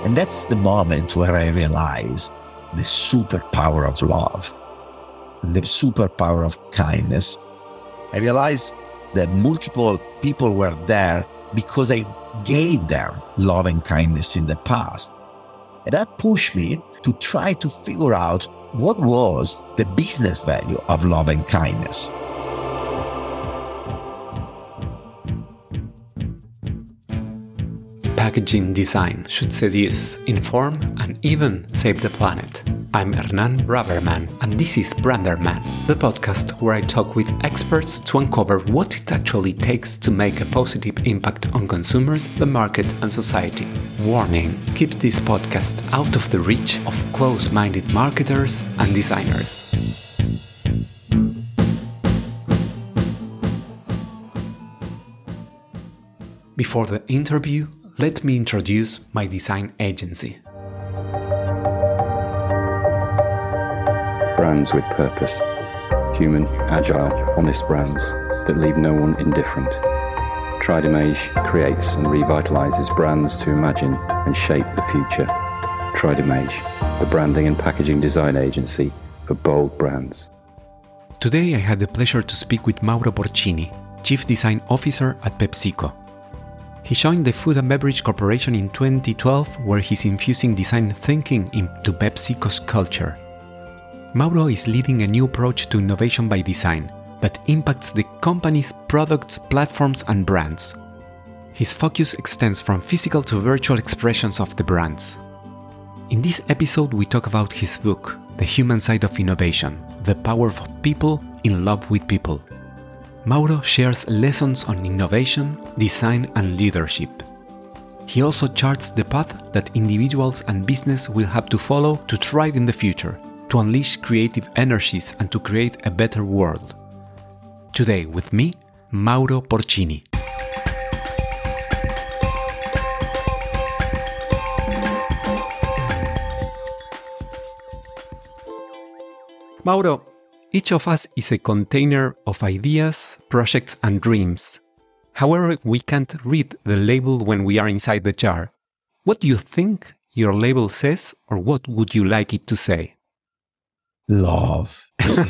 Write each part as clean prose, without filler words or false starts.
And that's the moment where I realized the superpower of love and the superpower of kindness. I realized that multiple people were there because I gave them love and kindness in the past. And that pushed me to try to figure out what was the business value of love and kindness. Packaging design should seduce, inform, and even save the planet. I'm Hernan Braverman, and this is Branderman, the podcast where I talk with experts to uncover what it actually takes to make a positive impact on consumers, the market, and society. Warning: keep this podcast out of the reach of close-minded marketers and designers. Before the interview, let me introduce my design agency. Brands with purpose. Human, agile, honest brands that leave no one indifferent. Tridimage creates and revitalizes brands to imagine and shape the future. Tridimage, the branding and packaging design agency for bold brands. Today I had the pleasure to speak with Mauro Porcini, Chief Design Officer at PepsiCo. He joined the Food and Beverage Corporation in 2012, where he's infusing design thinking into PepsiCo's culture. Mauro is leading a new approach to innovation by design that impacts the company's products, platforms, and brands. His focus extends from physical to virtual expressions of the brands. In this episode, we talk about his book, The Human Side of Innovation, The Power of People in Love with People. Mauro shares lessons on innovation, design, and leadership. He also charts the path that individuals and business will have to follow to thrive in the future, to unleash creative energies and to create a better world. Today with me, Mauro Porcini. Mauro, each of us is a container of ideas, projects, and dreams. However, we can't read the label when we are inside the jar. What do you think your label says, or what would you like it to say? Love.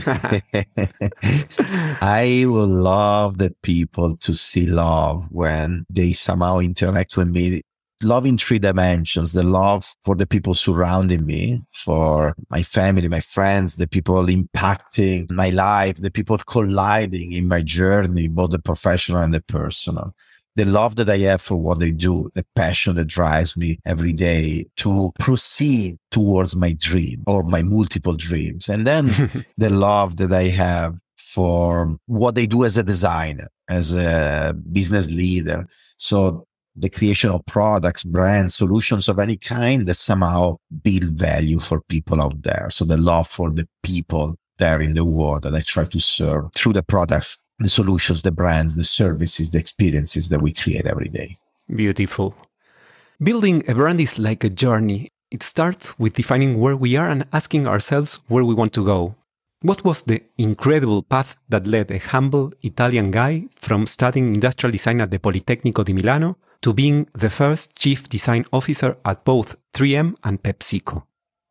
I would love the people to see love when they somehow interact with me. Love in three dimensions: the love for the people surrounding me, for my family, my friends, the people impacting my life, the people colliding in my journey, both the professional and the personal. The love that I have for what they do, the passion that drives me every day to proceed towards my dream or my multiple dreams. And then the love that I have for what they do as a designer, as a business leader. So the creation of products, brands, solutions of any kind that somehow build value for people out there. So the love for the people there in the world that I try to serve through the products, the solutions, the brands, the services, the experiences that we create every day. Beautiful. Building a brand is like a journey. It starts with defining where we are and asking ourselves where we want to go. What was the incredible path that led a humble Italian guy from studying industrial design at the Politecnico di Milano to being the first chief design officer at both 3M and PepsiCo?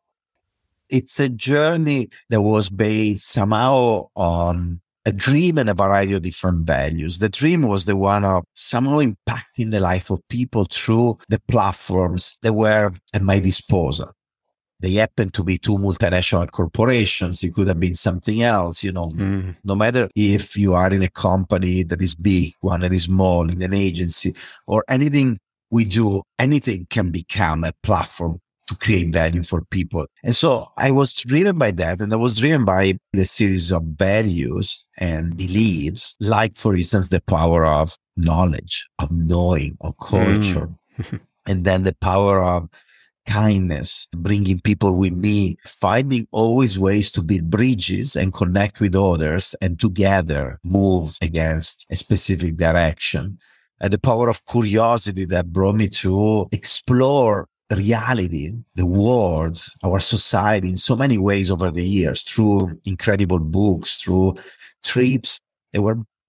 It's a journey that was based somehow on a dream and a variety of different values. The dream was the one of somehow impacting the life of people through the platforms that were at my disposal. They happened to be two multinational corporations. It could have been something else, No matter if you are in a company that is big, one that is small, in an agency, or anything we do, anything can become a platform to create value for people. And so I was driven by that. And I was driven by the series of values and beliefs, like, for instance, the power of knowledge, of knowing, of culture, and then the power of kindness, bringing people with me, finding always ways to build bridges and connect with others and together move against a specific direction. And the power of curiosity that brought me to explore reality, the world, our society in so many ways over the years, through incredible books, through trips that were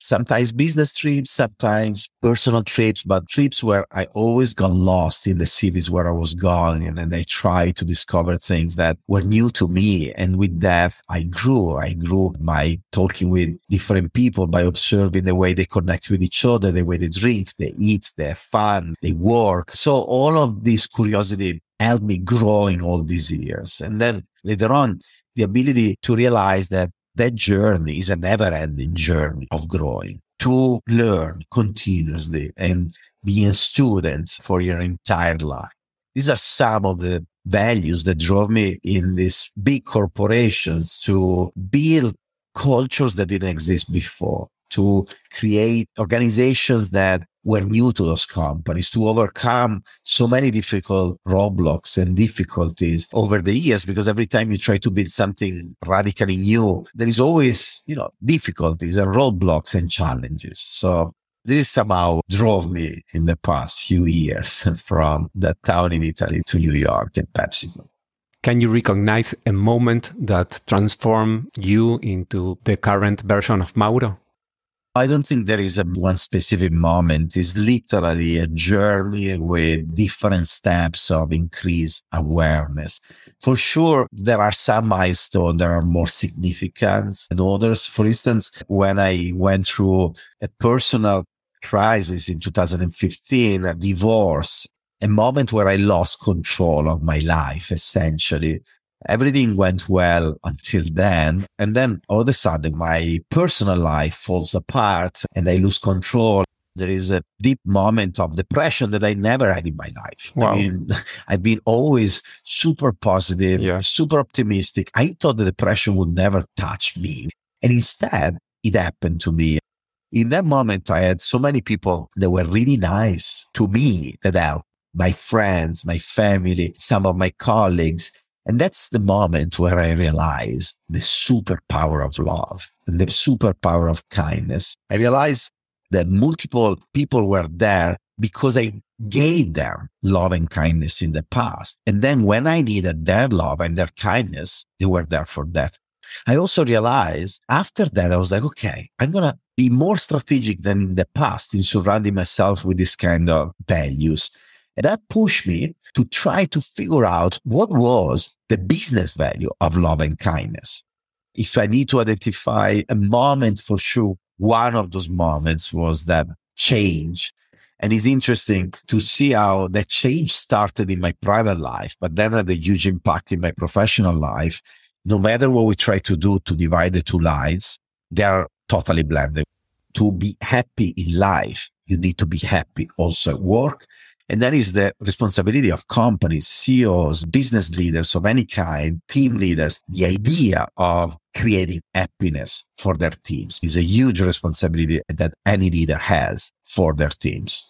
Sometimes business trips, sometimes personal trips, but trips where I always got lost in the cities where I was going. And then I tried to discover things that were new to me. And with that, I grew. I grew by talking with different people, by observing the way they connect with each other, the way they drink, they eat, they have fun, they work. So all of this curiosity helped me grow in all these years. And then later on, the ability to realize that journey is a never-ending journey of growing, to learn continuously and be a student for your entire life. These are some of the values that drove me in these big corporations to build cultures that didn't exist before, to create organizations that were new to those companies, to overcome so many difficult roadblocks and difficulties over the years, because every time you try to build something radically new, there is always, difficulties and roadblocks and challenges. So this somehow drove me in the past few years from that town in Italy to New York and PepsiCo. Can you recognize a moment that transformed you into the current version of Mauro? I don't think there is one specific moment. It's literally a journey with different steps of increased awareness. For sure, there are some milestones that are more significant than others. For instance, when I went through a personal crisis in 2015, a divorce, a moment where I lost control of my life, essentially. Everything went well until then. And then all of a sudden, my personal life falls apart and I lose control. There is a deep moment of depression that I never had in my life. Wow. I mean, I've been always super positive, super optimistic. I thought the depression would never touch me. And instead, it happened to me. In that moment, I had so many people that were really nice to me, that helped. My friends, my family, some of my colleagues. And that's the moment where I realized the superpower of love and the superpower of kindness. I realized that multiple people were there because I gave them love and kindness in the past. And then when I needed their love and their kindness, they were there for that. I also realized after that, I was like, okay, I'm going to be more strategic than in the past in surrounding myself with this kind of values. And that pushed me to try to figure out what was the business value of love and kindness. If I need to identify a moment, for sure, one of those moments was that change. And it's interesting to see how that change started in my private life, but then had a huge impact in my professional life. No matter what we try to do to divide the two lives, they are totally blended. To be happy in life, you need to be happy also at work. And that is the responsibility of companies, CEOs, business leaders of any kind, team leaders. The idea of creating happiness for their teams is a huge responsibility that any leader has for their teams.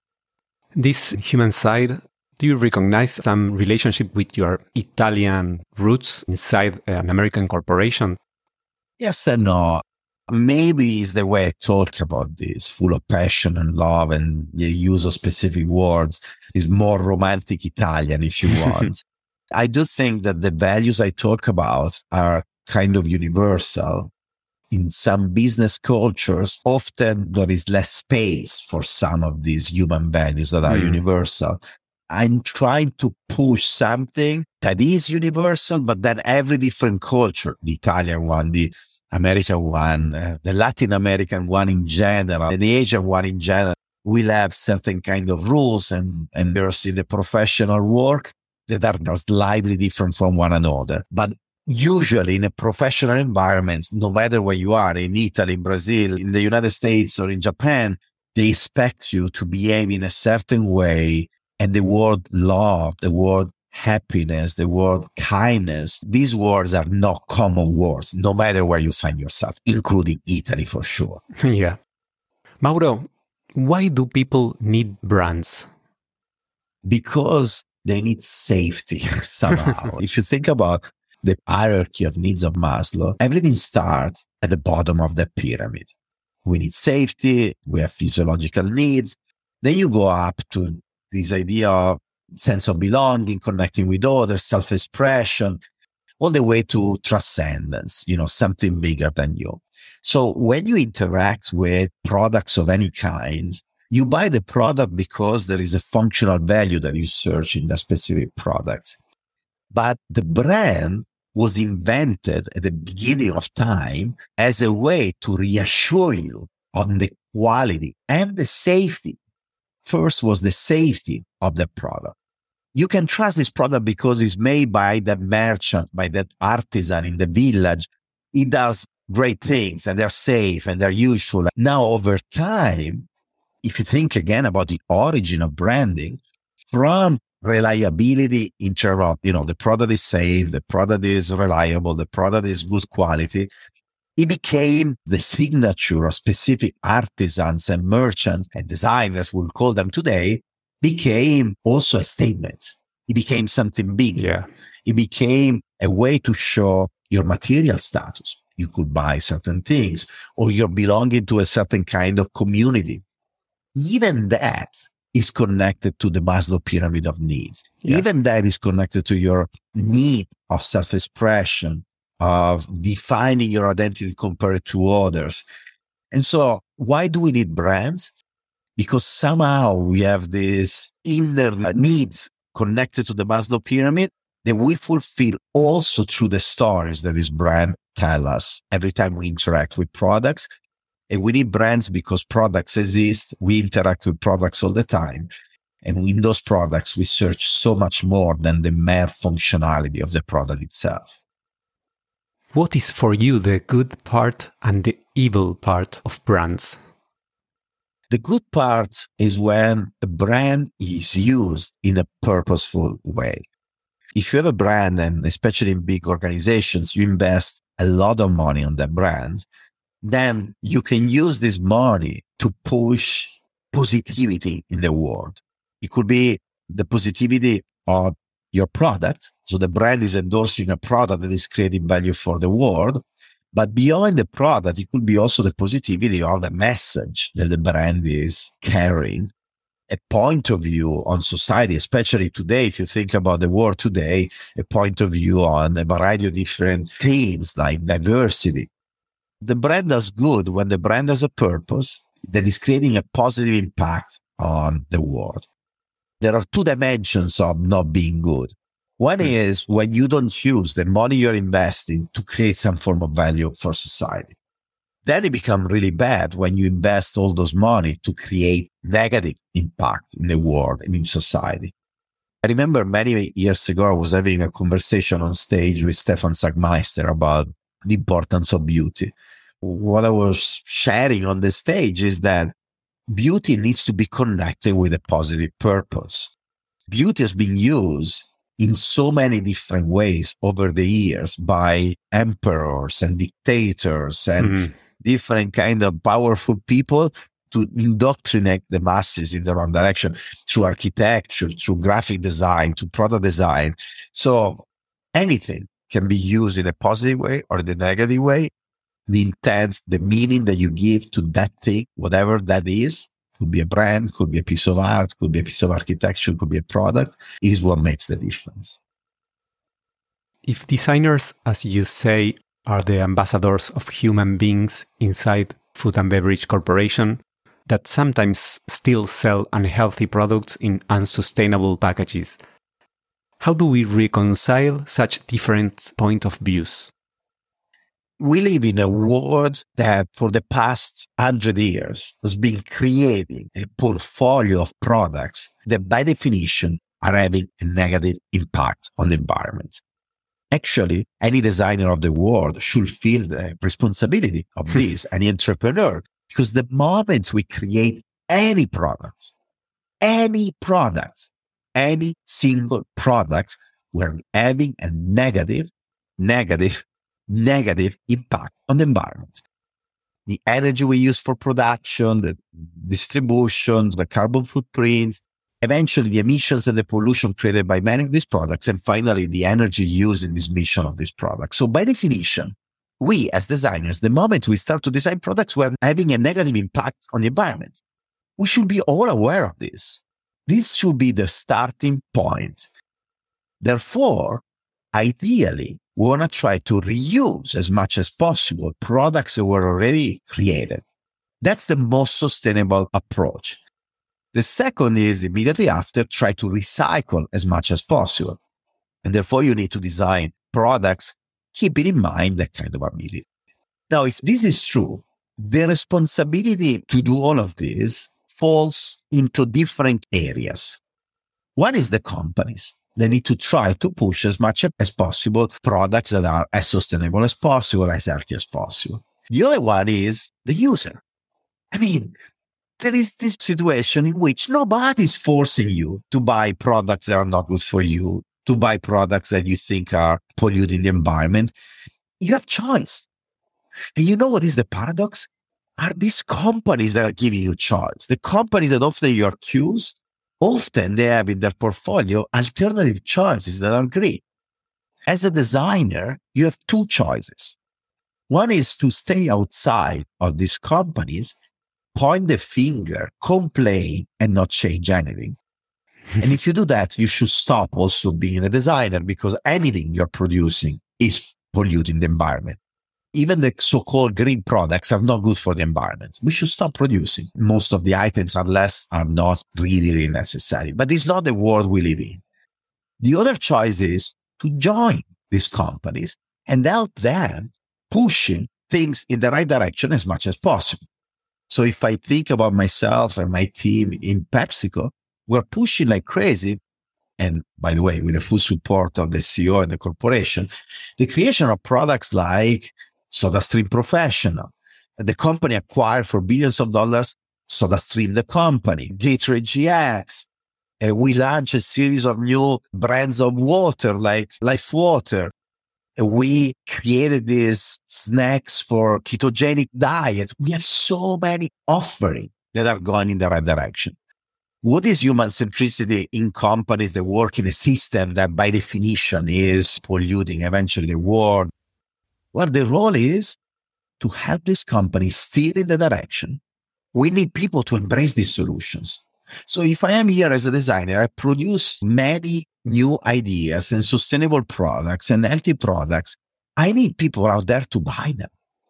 This human side, do you recognize some relationship with your Italian roots inside an American corporation? Yes and no. Maybe it's the way I talk about this, full of passion and love, and the use of specific words is more romantic Italian, if you want. I do think that the values I talk about are kind of universal. In some business cultures, often there is less space for some of these human values that are universal. I'm trying to push something that is universal, but then every different culture, the Italian one, the American one, the Latin American one in general, and the Asian one in general, will have certain kind of rules and there's in the professional work that are slightly different from one another. But usually in a professional environment, no matter where you are, in Italy, in Brazil, in the United States, or in Japan, they expect you to behave in a certain way. And the word love, the word happiness, the word kindness, these words are not common words, no matter where you find yourself, including Italy for sure. Yeah. Mauro, why do people need brands? Because they need safety somehow. If you think about the hierarchy of needs of Maslow, everything starts at the bottom of the pyramid. We need safety, we have physiological needs. Then you go up to this idea of sense of belonging, connecting with others, self-expression, all the way to transcendence, something bigger than you. So when you interact with products of any kind, you buy the product because there is a functional value that you search in that specific product. But the brand was invented at the beginning of time as a way to reassure you on the quality and the safety. First was the safety of the product. You can trust this product because it's made by that merchant, by that artisan in the village. He does great things and they're safe and they're useful. Now, over time, if you think again about the origin of branding, from reliability in terms of, the product is safe, the product is reliable, the product is good quality, it became the signature of specific artisans and merchants and designers, we'll call them today, became also a statement. It became something big. Yeah. It became a way to show your material status. You could buy certain things, or you're belonging to a certain kind of community. Even that is connected to the Maslow pyramid of needs. Yeah. Even that is connected to your need of self-expression, of defining your identity compared to others. And so why do we need brands? Because somehow we have these inner needs connected to the Maslow pyramid that we fulfill also through the stories that this brand tell us every time we interact with products. And we need brands because products exist. We interact with products all the time. And in those products, we search so much more than the mere functionality of the product itself. What is for you the good part and the evil part of brands? The good part is when a brand is used in a purposeful way. If you have a brand, and especially in big organizations, you invest a lot of money on that brand, then you can use this money to push positivity in the world. It could be the positivity of your product. So the brand is endorsing a product that is creating value for the world. But beyond the product, it could be also the positivity of the message that the brand is carrying, a point of view on society, especially today. If you think about the world today, a point of view on a variety of different themes like diversity. The brand does good when the brand has a purpose that is creating a positive impact on the world. There are two dimensions of not being good. One is when you don't use the money you're investing to create some form of value for society. Then it becomes really bad when you invest all those money to create negative impact in the world and in society. I remember many years ago, I was having a conversation on stage with Stefan Sagmeister about the importance of beauty. What I was sharing on the stage is that beauty needs to be connected with a positive purpose. Beauty has been used in so many different ways over the years by emperors and dictators and different kind of powerful people to indoctrinate the masses in the wrong direction through architecture, through graphic design, to product design. So anything can be used in a positive way or the negative way. The intent, the meaning that you give to that thing, whatever that is, could be a brand, could be a piece of art, could be a piece of architecture, could be a product, is what makes the difference. If designers, as you say, are the ambassadors of human beings inside food and beverage corporation that sometimes still sell unhealthy products in unsustainable packages, how do we reconcile such different point of views? We live in a world that for the past 100 years has been creating a portfolio of products that by definition are having a negative impact on the environment. Actually, any designer of the world should feel the responsibility of this, any entrepreneur, because the moment we create any single product, we're having a negative impact on the environment. The energy we use for production, the distribution, the carbon footprint, eventually the emissions and the pollution created by many of these products, and finally the energy used in this mission of this product. So by definition, we as designers, the moment we start to design products, we're having a negative impact on the environment. We should be all aware of this. This should be the starting point. Therefore, ideally, We want to try to reuse as much as possible products that were already created. That's the most sustainable approach. The second is immediately after, try to recycle as much as possible. And therefore, you need to design products, keeping in mind that kind of ability. Now, if this is true, the responsibility to do all of this falls into different areas. One is the companies. They need to try to push as much as possible products that are as sustainable as possible, as healthy as possible. The other one is the user. I mean, there is this situation in which nobody's forcing you to buy products that are not good for you, to buy products that you think are polluting the environment. You have choice. And you know what is the paradox? Are these companies that are giving you choice. The companies that offer you cues, often they have in their portfolio alternative choices that are great. As a designer, you have two choices. One is to stay outside of these companies, point the finger, complain, and not change anything. And if you do that, you should stop also being a designer, because anything you're producing is polluting the environment. Even the so-called green products are not good for the environment. We should stop producing. Most of the items, unless are not really necessary. But it's not the world we live in. The other choice is to join these companies and help them pushing things in the right direction as much as possible. So if I think about myself and my team in PepsiCo, we're pushing like crazy. And by the way, with the full support of the CEO and the corporation, the creation of products like SodaStream Professional. The company acquired for billions of dollars SodaStream, the company, Gatorade GX. We launched a series of new brands of water like Life Water. We created these snacks for ketogenic diets. We have so many offerings that are going in the right direction. What is human centricity in companies that work in a system that by definition is polluting eventually the world? Well, the role is to help this company steer in the direction. We need people to embrace these solutions. So if I am here as a designer, I produce many new ideas and sustainable products and healthy products. I need people out there to buy them.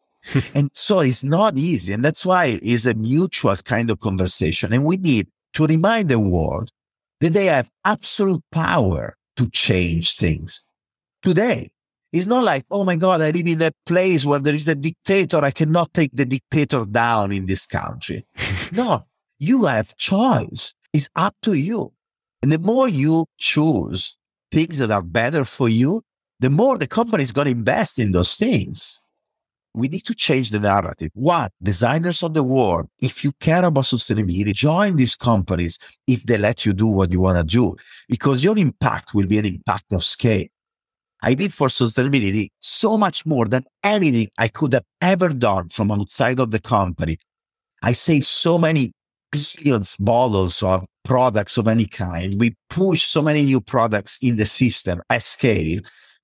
And so it's not easy. And that's why it's a mutual kind of conversation. And we need to remind the world that they have absolute power to change things today. It's not like, oh my God, I live in a place where there is a dictator. I cannot take the dictator down in this country. No, you have choice. It's up to you. And the more you choose things that are better for you, the more the company is going to invest in those things. We need to change the narrative. One, designers of the world, if you care about sustainability, join these companies if they let you do what you want to do, because your impact will be an impact of scale. I did for sustainability so much more than anything I could have ever done from outside of the company. I saved so many billions bottles of products of any kind. We pushed so many new products in the system at scale.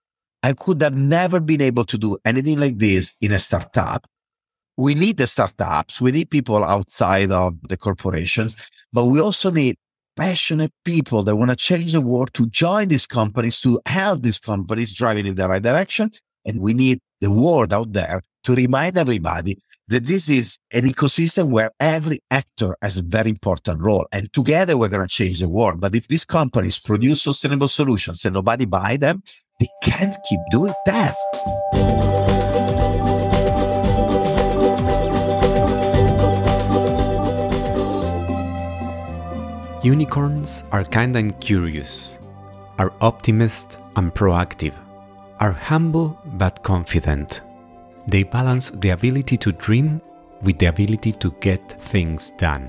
I could have never been able to do anything like this in a startup. We need the startups. We need people outside of the corporations, but we also need passionate people that want to change the world to join these companies, to help these companies driving in the right direction. And we need the world out there to remind everybody that this is an ecosystem where every actor has a very important role. And together we're going to change the world. But if these companies produce sustainable solutions and nobody buy them, they can't keep doing that. Unicorns are kind and curious, are optimist and proactive, are humble but confident. They balance the ability to dream with the ability to get things done.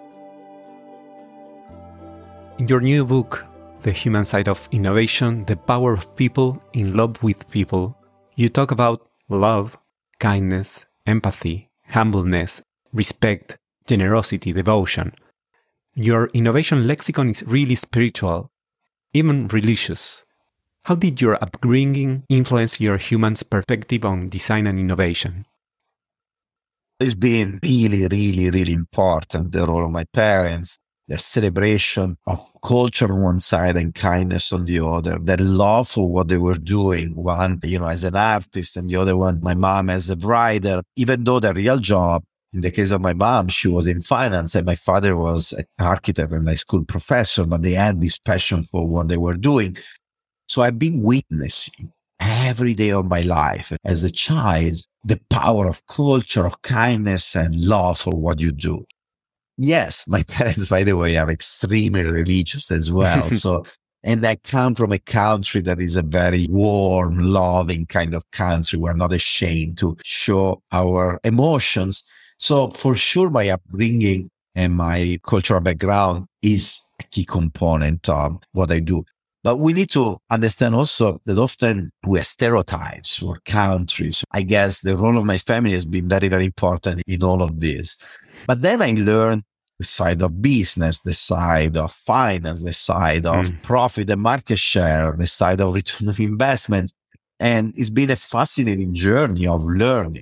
In your new book, The Human Side of Innovation, The Power of People in Love with People, you talk about love, kindness, empathy, humbleness, respect, generosity, devotion. Your innovation lexicon is really spiritual, even religious. How did your upbringing influence your human's perspective on design and innovation? It's been really important, the role of my parents. their celebration of culture on one side and kindness on the other, their love for what they were doing. One, as an artist, and the other one, my mom as a writer, even though the real job, in the case of my mom, she was in finance and my father was an architect and a school professor, but they had this passion for what they were doing. So I've been witnessing every day of my life as a child, the power of culture, of kindness and love for what you do. Yes, my parents, by the way, are extremely religious as well. And I come from a country that is a very warm, loving kind of country. We're not ashamed to show our emotions. So for sure, my upbringing and my cultural background is a key component of what I do. But we need to understand also that often we have stereotypes for countries. I guess the role of my family has been very, very important in all of this. But then I learned the side of business, the side of finance, the side of profit and market share, the side of return on investment. And it's been a fascinating journey of learning,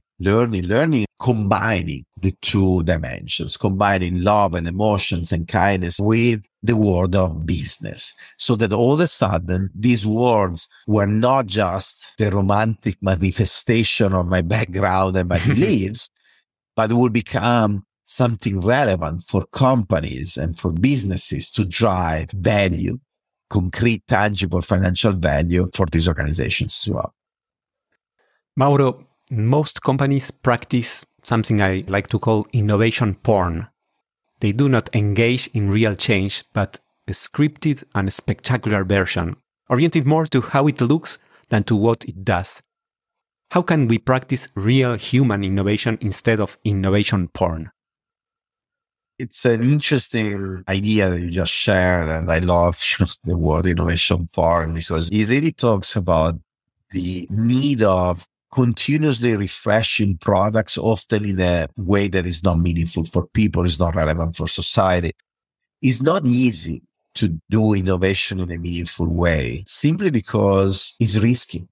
combining the two dimensions, combining love and emotions and kindness with the world of business. So that all of a sudden, these words were not just the romantic manifestation of my background and my beliefs, but would become something relevant for companies and for businesses to drive value, concrete, tangible financial value for these organizations as well. Mauro, most companies practice something I like to call innovation porn. They do not engage in real change, but a scripted and spectacular version, oriented more to how it looks than to what it does. How can we practice real human innovation instead of innovation porn? It's an interesting idea that you just shared, and I love the word innovation porn because it really talks about the need of continuously refreshing products, often in a way that is not meaningful for people, is not relevant for society. It's not easy to do innovation in a meaningful way, simply because it's risky.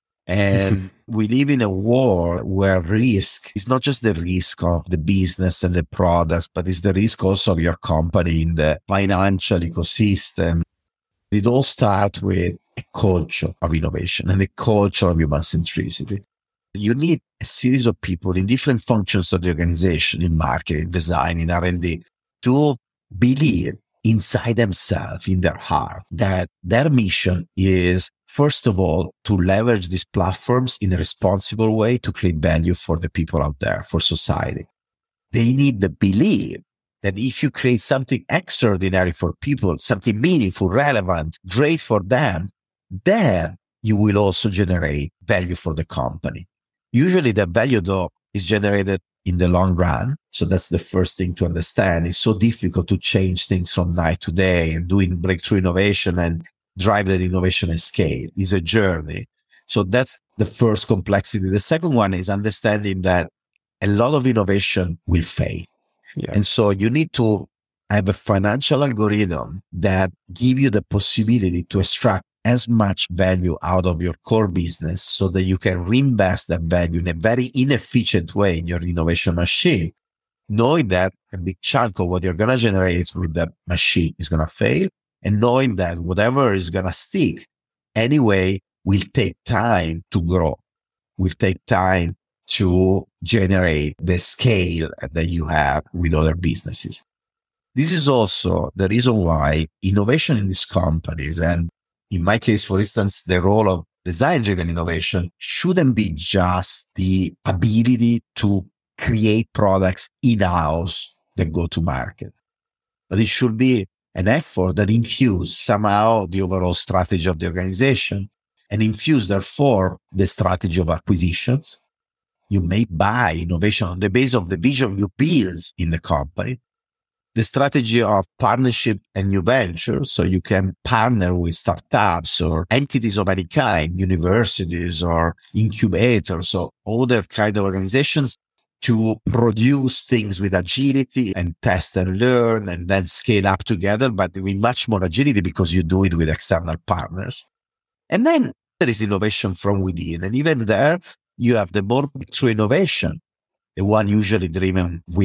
And we live in a world where risk is not just the risk of the business and the products, but it's the risk also of your company in the financial ecosystem. It all starts with a culture of innovation and a culture of human centricity. You need a series of people in different functions of the organization, in marketing, design, in R&D, to believe inside themselves, in their heart, that their mission is, first of all, to leverage these platforms in a responsible way to create value for the people out there, for society. They need the belief that if you create something extraordinary for people, something meaningful, relevant, great for them, then you will also generate value for the company. Usually the value, though, is generated in the long run. So that's the first thing to understand. It's so difficult to change things from night to day and doing breakthrough innovation and drive that innovation at scale. It's a journey. So that's the first complexity. The second one is understanding that a lot of innovation will fail. Yeah. And so you need to have a financial algorithm that give you the possibility to extract as much value out of your core business so that you can reinvest that value in a very inefficient way in your innovation machine, knowing that a big chunk of what you're going to generate with that machine is going to fail, and knowing that whatever is going to stick anyway will take time to grow, will take time to generate the scale that you have with other businesses. This is also the reason why innovation in these companies, and in my case, for instance, the role of design-driven innovation shouldn't be just the ability to create products in-house that go to market, but it should be an effort that infuse somehow the overall strategy of the organization and infuse, therefore, the strategy of acquisitions. You may buy innovation on the basis of the vision you build in the company, the strategy of partnership and new ventures. So you can partner with startups or entities of any kind, universities or incubators or other kind of organizations to produce things with agility and test and learn and then scale up together, but with much more agility because you do it with external partners. And then there is innovation from within. And even there, you have the more breakthrough innovation, the one usually driven with a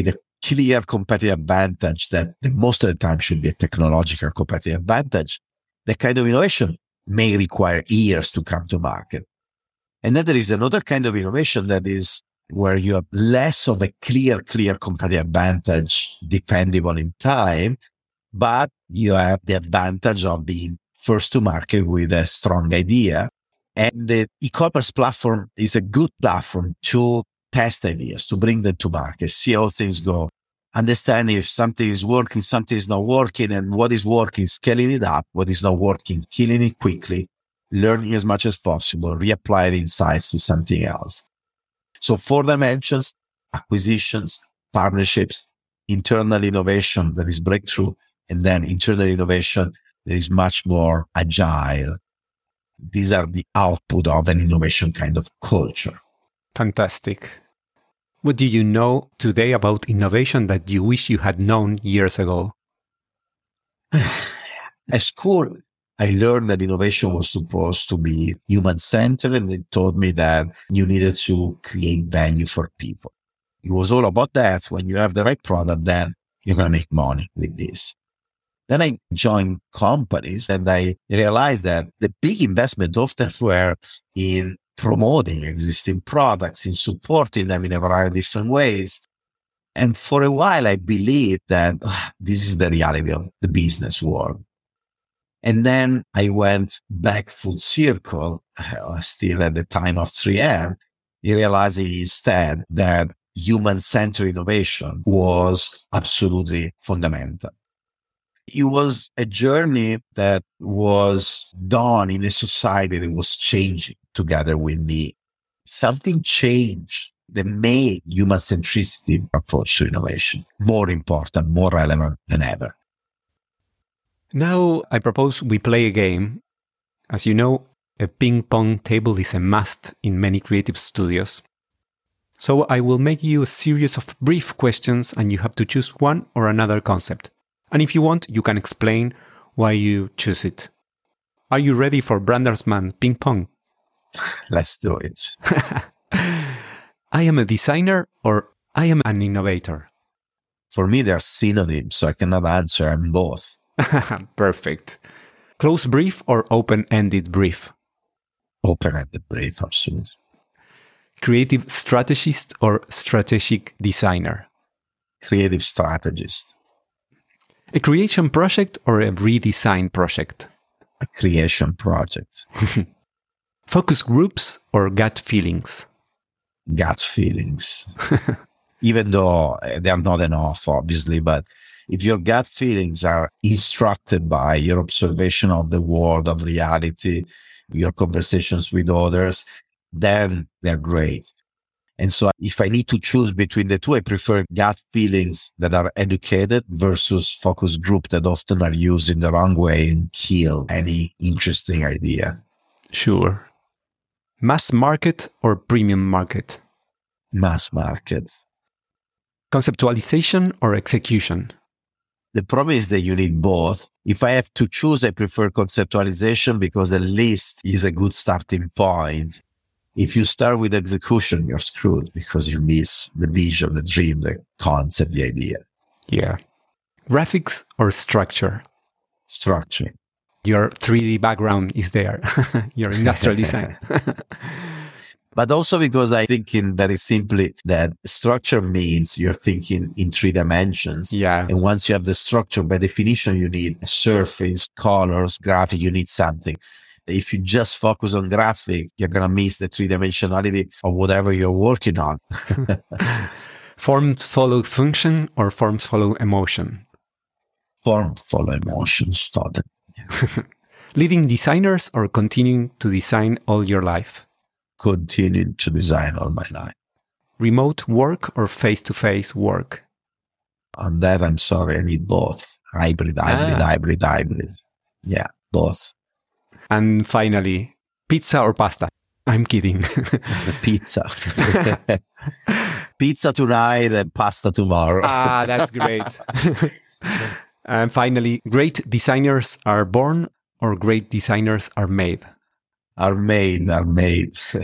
clear competitive advantage that most of the time should be a technological competitive advantage, that kind of innovation may require years to come to market. And then there is another kind of innovation that is where you have less of a clear competitive advantage defendable in time, but you have the advantage of being first to market with a strong idea. And the e-commerce platform is a good platform to test ideas, to bring them to market, see how things go, understand if something is working, something is not working, and what is working, scaling it up, what is not working, killing it quickly, learning as much as possible, reapply the insights to something else. So 4 dimensions: acquisitions, partnerships, internal innovation that is breakthrough, and then internal innovation that is much more agile. These are the output of an innovation kind of culture. Fantastic. What do you know today about innovation that you wish you had known years ago? At school, I learned that innovation was supposed to be human-centered, and they told me that you needed to create value for people. It was all about that. When you have the right product, then you're going to make money with this. Then I joined companies and I realized that the big investment often were in promoting existing products, in supporting them in a variety of different ways. And for a while, I believed that this is the reality of the business world. And then I went back full circle, still at the time of 3M, realizing instead that human-centered innovation was absolutely fundamental. It was a journey that was done in a society that was changing together with me. Something changed that made human centricity approach to innovation more important, more relevant than ever. Now I propose we play a game. As you know, a ping pong table is a must in many creative studios. So I will make you a series of brief questions and you have to choose one or another concept. And if you want, you can explain why you choose it. Are you ready for Brandersman ping pong? Let's do it. I am a designer or I am an innovator? For me, they're synonyms, so I cannot answer. I'm both. Perfect. Close brief or open-ended brief? Open-ended brief, absolutely. Creative strategist or strategic designer? Creative strategist. A creation project or a redesign project? A creation project. Focus groups or gut feelings? Gut feelings. Even though they are not enough, obviously, but if your gut feelings are instructed by your observation of the world, of reality, your conversations with others, then they're great. And so if I need to choose between the two, I prefer gut feelings that are educated versus focus group that often are used in the wrong way and kill any interesting idea. Sure. Mass market or premium market? Mass market. Conceptualization or execution? The problem is that you need both. If I have to choose, I prefer conceptualization because at least is a good starting point. If you start with execution, you're screwed because you miss the vision, the dream, the concept, the idea. Yeah. Graphics or structure? Structure. Your 3D background is there. Your industrial design. But also because I think very simply that structure means you're thinking in 3 dimensions. Yeah. And once you have the structure, by definition, you need a surface, colors, graphic, you need something. If you just focus on graphic, you're going to miss the 3-dimensionality of whatever you're working on. Forms follow function or forms follow emotion? Form follow emotions, totally. Leading designers or continuing to design all your life? Continuing to design all my life. Remote work or face-to-face work? On that, I'm sorry, I need both. Hybrid. Yeah, both. And finally, pizza or pasta? I'm kidding. Pizza. Pizza tonight and pasta tomorrow. That's great. And finally, great designers are born or great designers are made? Are made.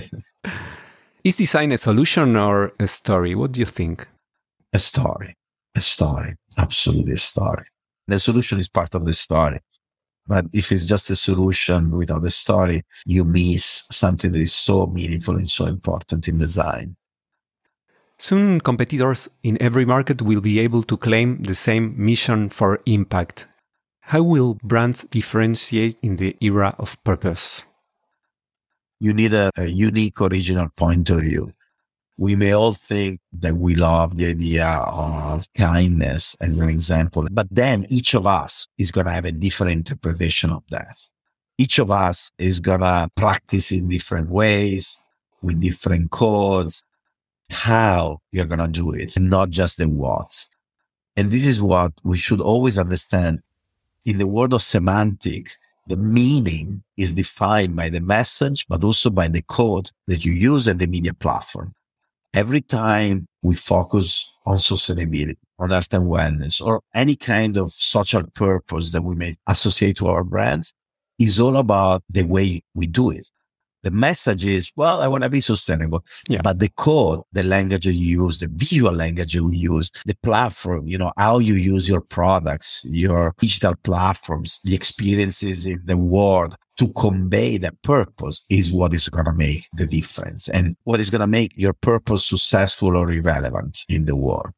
Is design a solution or a story? What do you think? A story. A story, absolutely a story. The solution is part of the story. But if it's just a solution without a story, you miss something that is so meaningful and so important in design. Soon, competitors in every market will be able to claim the same mission for impact. How will brands differentiate in the era of purpose? You need a unique, original point of view. We may all think that we love the idea of kindness as an example, but then each of us is going to have a different interpretation of that. Each of us is going to practice in different ways, with different codes, how you're going to do it, and not just the what. And this is what we should always understand. In the world of semantic, the meaning is defined by the message, but also by the code that you use at the media platform. Every time we focus on sustainability, on health and wellness, or any kind of social purpose that we may associate to our brands, is all about the way we do it. The message is, well, I want to be sustainable. Yeah. But the code, the language you use, the visual language you use, the platform, how you use your products, your digital platforms, the experiences in the world to convey that purpose is what is going to make the difference and what is going to make your purpose successful or irrelevant in the world.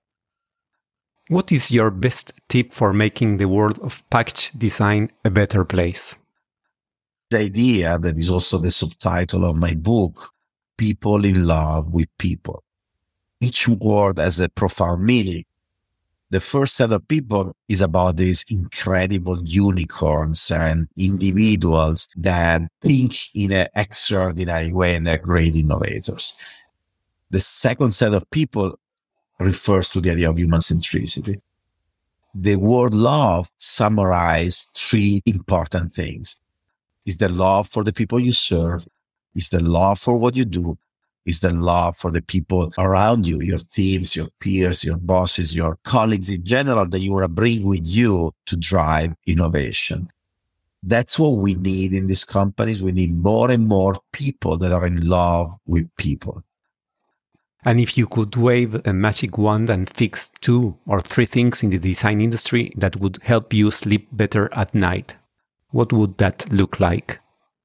What is your best tip for making the world of package design a better place? The idea that is also the subtitle of my book, People in Love with People. Each word has a profound meaning. The first set of people is about these incredible unicorns and individuals that think in an extraordinary way and are great innovators. The second set of people refers to the idea of human centricity. The word love summarizes three important things. Is the love for the people you serve, is the love for what you do, is the love for the people around you, your teams, your peers, your bosses, your colleagues in general that you want to bring with you to drive innovation. That's what we need in these companies. We need more and more people that are in love with people. And if you could wave a magic wand and fix 2 or 3 things in the design industry that would help you sleep better at night, what would that look like?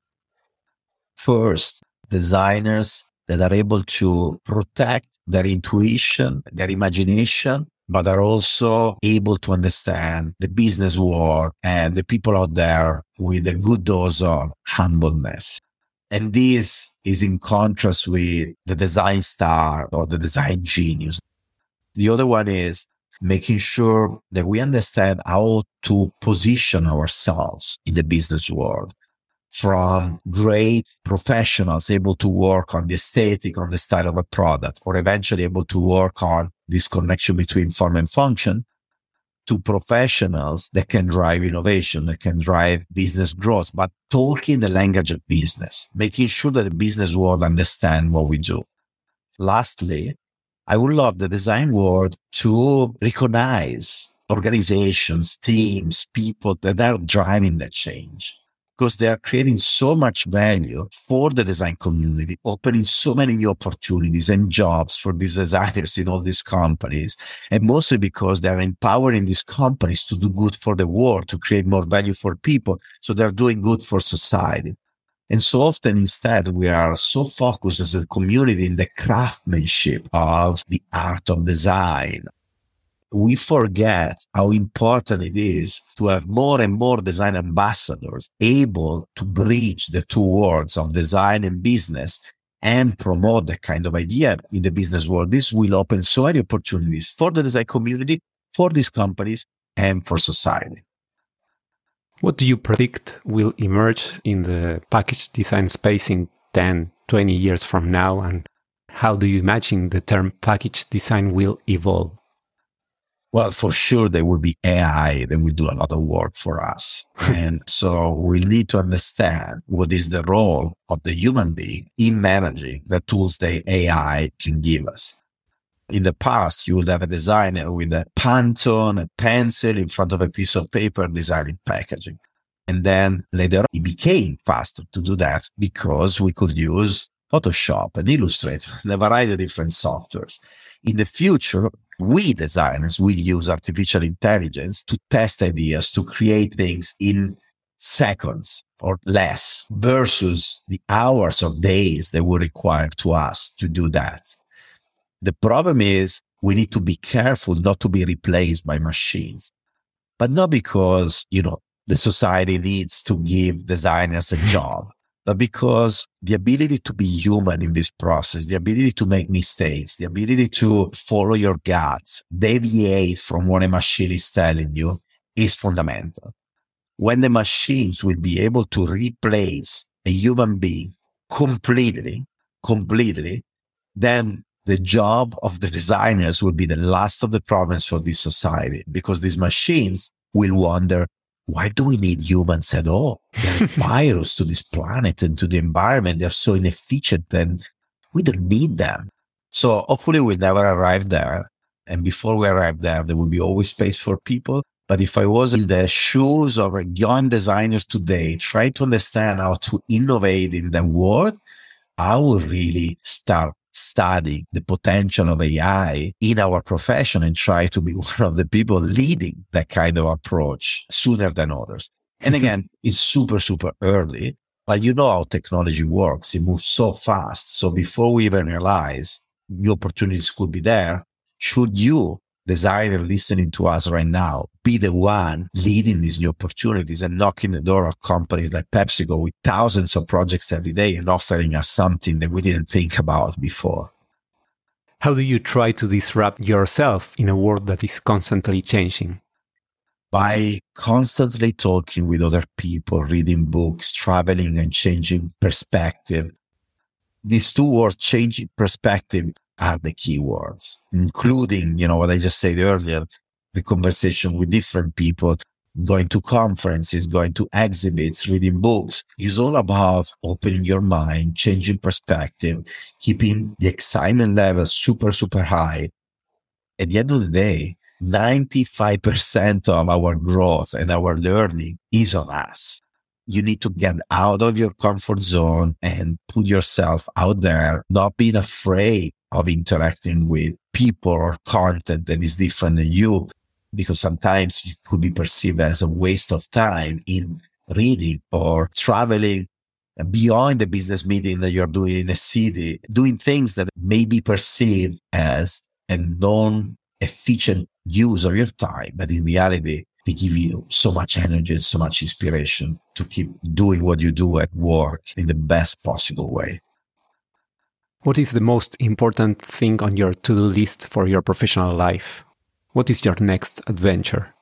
First, designers that are able to protect their intuition, their imagination, but are also able to understand the business world and the people out there with a good dose of humbleness. And this is in contrast with the design star or the design genius. The other one is making sure that we understand how to position ourselves in the business world, from great professionals able to work on the aesthetic, on the style of a product, or eventually able to work on this connection between form and function, to professionals that can drive innovation, that can drive business growth, but talking the language of business, making sure that the business world understand what we do. Lastly, I would love the design world to recognize organizations, teams, people that are driving that change, because they are creating so much value for the design community, opening so many new opportunities and jobs for these designers in all these companies. And mostly because they're empowering these companies to do good for the world, to create more value for people. So they're doing good for society. And so often instead, we are so focused as a community in the craftsmanship of the art of design. We forget how important it is to have more and more design ambassadors able to bridge the two worlds of design and business and promote that kind of idea in the business world. This will open so many opportunities for the design community, for these companies, and for society. What do you predict will emerge in the package design space in 10, 20 years from now? And how do you imagine the term package design will evolve? Well, for sure, there will be AI that will do a lot of work for us. And so we need to understand what is the role of the human being in managing the tools that AI can give us. In the past, you would have a designer with a Pantone, a pencil in front of a piece of paper designing packaging. And then later on, it became faster to do that because we could use Photoshop and Illustrator and a variety of different softwares. In the future, we designers will use artificial intelligence to test ideas, to create things in seconds or less versus the hours or days that would require to us to do that. The problem is we need to be careful not to be replaced by machines, but not because, the society needs to give designers a job, but because the ability to be human in this process, the ability to make mistakes, the ability to follow your gut, deviate from what a machine is telling you is fundamental. When the machines will be able to replace a human being completely, then the job of the designers will be the last of the problems for this society, because these machines will wonder, why do we need humans at all? They're a virus to this planet and to the environment. They're so inefficient and we don't need them. So hopefully we'll never arrive there. And before we arrive there, there will be always space for people. But if I was in the shoes of young designers today, trying to understand how to innovate in the world, I would really start studying the potential of AI in our profession and try to be one of the people leading that kind of approach sooner than others. And again, it's super, super early, but you know how technology works. It moves so fast. So before we even realize new opportunities could be there, should you, designer listening to us right now, be the one leading these new opportunities and knocking the door of companies like PepsiCo with thousands of projects every day and offering us something that we didn't think about before. How do you try to disrupt yourself in a world that is constantly changing? By constantly talking with other people, reading books, traveling and changing perspective. These two words, changing perspective, are the key words, including, what I just said earlier, the conversation with different people, going to conferences, going to exhibits, reading books. Is all about opening your mind, changing perspective, keeping the excitement level super, super high. At the end of the day, 95% of our growth and our learning is on us. You need to get out of your comfort zone and put yourself out there, not being afraid of interacting with people or content that is different than you, because sometimes it could be perceived as a waste of time in reading or traveling beyond the business meeting that you're doing in a city, doing things that may be perceived as a non-efficient use of your time, but in reality, they give you so much energy and so much inspiration to keep doing what you do at work in the best possible way. What is the most important thing on your to-do list for your professional life? What is your next adventure?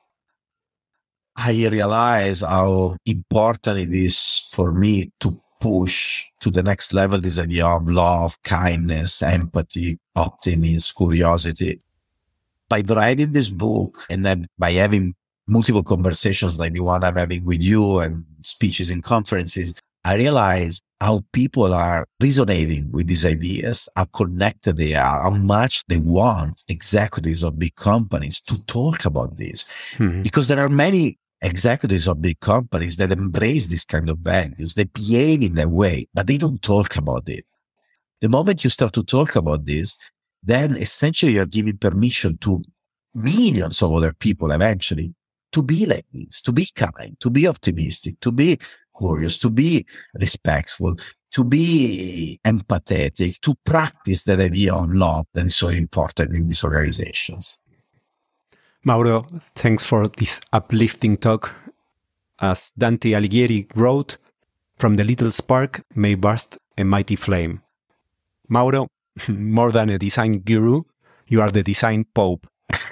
I realize how important it is for me to push to the next level this idea of love, kindness, empathy, optimism, curiosity. By writing this book and then by having multiple conversations like the one I'm having with you and speeches in conferences, I realize how people are resonating with these ideas, how connected they are, how much they want executives of big companies to talk about this. Mm-hmm. Because there are many executives of big companies that embrace this kind of values. They behave in that way, but they don't talk about it. The moment you start to talk about this, then essentially you're giving permission to millions of other people eventually to be like this, to be kind, to be optimistic, to be curious, to be respectful, to be empathetic, to practice that idea of love that is so important in these organizations. Mauro, thanks for this uplifting talk. As Dante Alighieri wrote, "From the little spark may burst a mighty flame." Mauro, more than a design guru, you are the design pope.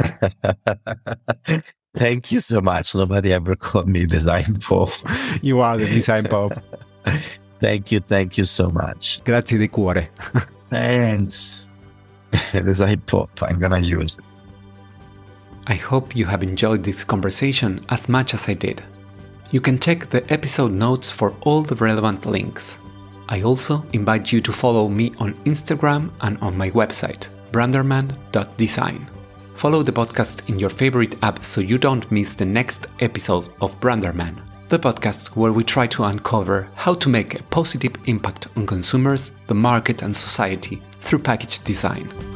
Thank you so much. Nobody ever called me design pope. You are the design pope. Thank you so much. Grazie di cuore. Thanks. Design pope, I'm gonna use it. I hope you have enjoyed this conversation as much as I did. You can check the episode notes for all the relevant links. I also invite you to follow me on Instagram and on my website, branderman.design. Follow the podcast in your favorite app so you don't miss the next episode of Branderman, the podcast where we try to uncover how to make a positive impact on consumers, the market, and society through package design.